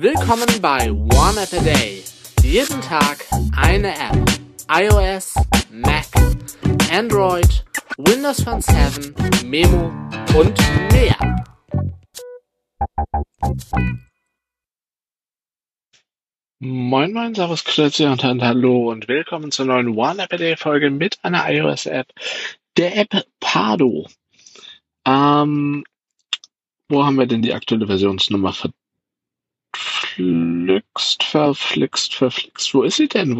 Willkommen bei One App a Day. Jeden Tag eine App. iOS, Mac, Android, Windows Phone 7, Memo und mehr. Moin moin, servus, grüezi und hallo und willkommen zur neuen One App a Day Folge mit einer iOS-App, der App Pardo. Wo haben wir denn die aktuelle Versionsnummer? Verflixt. Wo ist sie denn?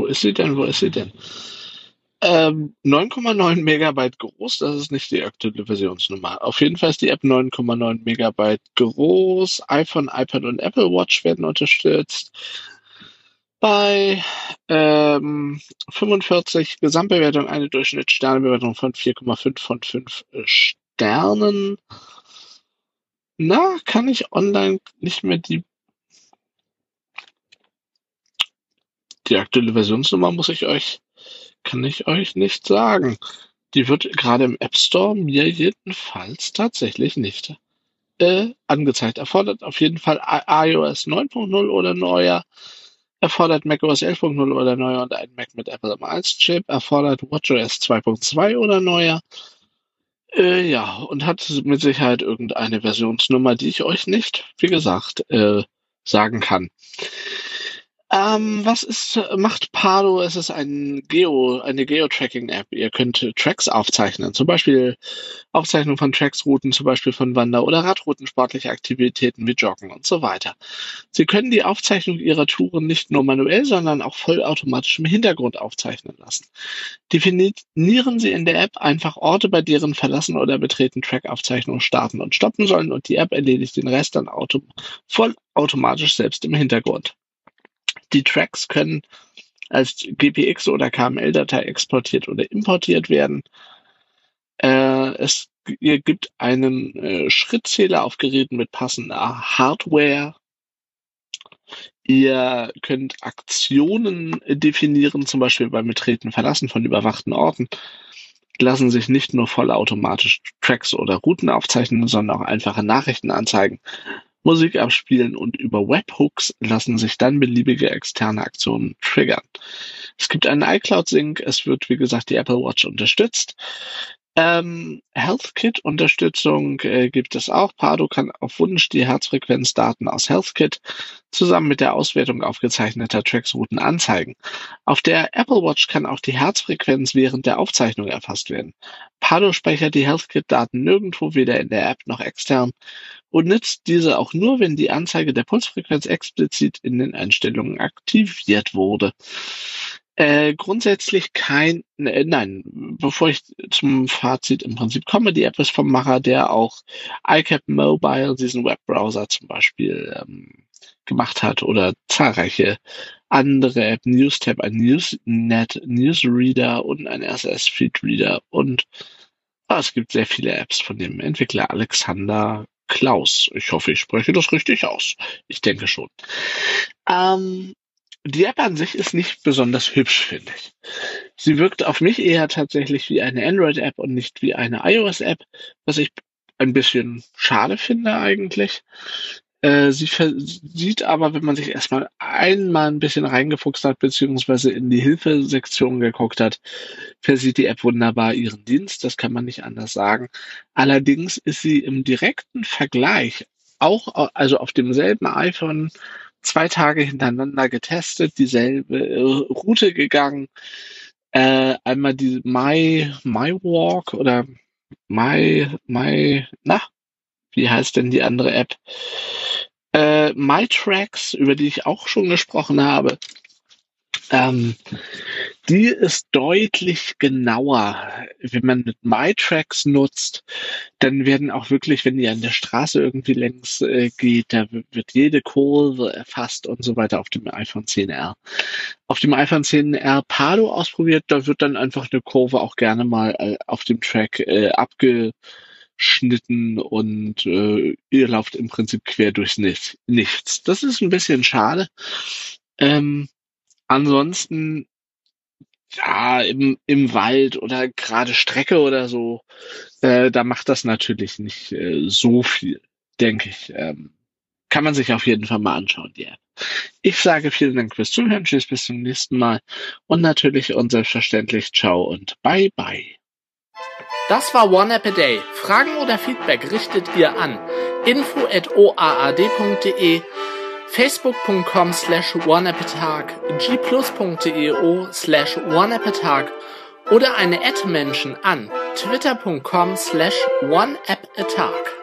9,9 Megabyte groß, das ist nicht die aktuelle Versionsnummer. Auf jeden Fall ist die App 9,9 Megabyte groß. iPhone, iPad und Apple Watch werden unterstützt. Bei 45 Gesamtbewertung eine Durchschnittssternebewertung von 4,5 von 5 Sternen. Kann ich online nicht mehr die aktuelle Versionsnummer kann ich euch nicht sagen. Die wird gerade im App Store mir jedenfalls tatsächlich nicht angezeigt. Erfordert auf jeden Fall iOS 9.0 oder neuer. Erfordert macOS 11.0 oder neuer und ein Mac mit Apple M1-Chip. Erfordert WatchOS 2.2 oder neuer. Und hat mit Sicherheit irgendeine Versionsnummer, die ich euch nicht, wie gesagt, sagen kann. Macht Pardo? Es ist eine Geo-Tracking-App. Ihr könnt Tracks aufzeichnen, zum Beispiel Aufzeichnung von Tracks-Routen, zum Beispiel von Wander- oder Radrouten, sportliche Aktivitäten wie Joggen und so weiter. Sie können die Aufzeichnung Ihrer Touren nicht nur manuell, sondern auch vollautomatisch im Hintergrund aufzeichnen lassen. Definieren Sie in der App einfach Orte, bei deren Verlassen oder Betreten Track-Aufzeichnungen starten und stoppen sollen und die App erledigt den Rest dann vollautomatisch selbst im Hintergrund. Die Tracks können als GPX oder KML-Datei exportiert oder importiert werden. Es gibt einen Schrittzähler auf Geräten mit passender Hardware. Ihr könnt Aktionen definieren, zum Beispiel beim Betreten, Verlassen von überwachten Orten. Lassen sich nicht nur vollautomatisch Tracks oder Routen aufzeichnen, sondern auch einfache Nachrichten anzeigen. Musik abspielen und über Webhooks lassen sich dann beliebige externe Aktionen triggern. Es gibt einen iCloud-Sync, es wird, wie gesagt, die Apple Watch unterstützt. HealthKit-Unterstützung gibt es auch. Pardo kann auf Wunsch die Herzfrequenzdaten aus HealthKit zusammen mit der Auswertung aufgezeichneter Tracks-Routen anzeigen. Auf der Apple Watch kann auch die Herzfrequenz während der Aufzeichnung erfasst werden. Pardo speichert die HealthKit-Daten nirgendwo, weder in der App noch extern, und nutzt diese auch nur, wenn die Anzeige der Pulsfrequenz explizit in den Einstellungen aktiviert wurde. Grundsätzlich nein, bevor ich zum Fazit im Prinzip komme, die App ist vom Macher, der auch iCap Mobile, diesen Webbrowser zum Beispiel, gemacht hat oder zahlreiche andere App, NewsTab, ein Newsnet, Newsreader und ein RSS-Feed-Reader und es gibt sehr viele Apps von dem Entwickler Alexander Klaus. Ich hoffe, ich spreche das richtig aus. Ich denke schon. Die App an sich ist nicht besonders hübsch, finde ich. Sie wirkt auf mich eher tatsächlich wie eine Android-App und nicht wie eine iOS-App, was ich ein bisschen schade finde eigentlich. Sie sieht aber, wenn man sich erstmal einmal ein bisschen reingefuchst hat, beziehungsweise in die Hilfesektion geguckt hat, versieht die App wunderbar ihren Dienst, das kann man nicht anders sagen. Allerdings ist sie im direkten Vergleich also auf demselben iPhone 2 Tage hintereinander getestet, dieselbe Route gegangen, einmal die My Walk oder wie heißt denn die andere App? MyTracks, über die ich auch schon gesprochen habe. Die ist deutlich genauer. Wenn man mit MyTracks nutzt, dann werden auch wirklich, wenn ihr an der Straße irgendwie längs geht, da wird jede Kurve erfasst und so weiter auf dem iPhone XR. Auf dem iPhone XR Pardo ausprobiert, da wird dann einfach eine Kurve auch gerne mal auf dem Track abgeschnitten und ihr lauft im Prinzip quer durchs Nichts. Das ist ein bisschen schade. Ansonsten, ja, im Wald oder gerade Strecke oder so, da macht das natürlich nicht so viel, denke ich. Kann man sich auf jeden Fall mal anschauen, die App. Ich sage vielen Dank fürs Zuhören. Tschüss, bis zum nächsten Mal. Und natürlich und selbstverständlich ciao und bye bye. Das war One App a Day. Fragen oder Feedback richtet ihr an info@oaad.de, facebook.com/oneappatag, gplus.io/oneappatag oder eine @Menschen an twitter.com/oneappatag.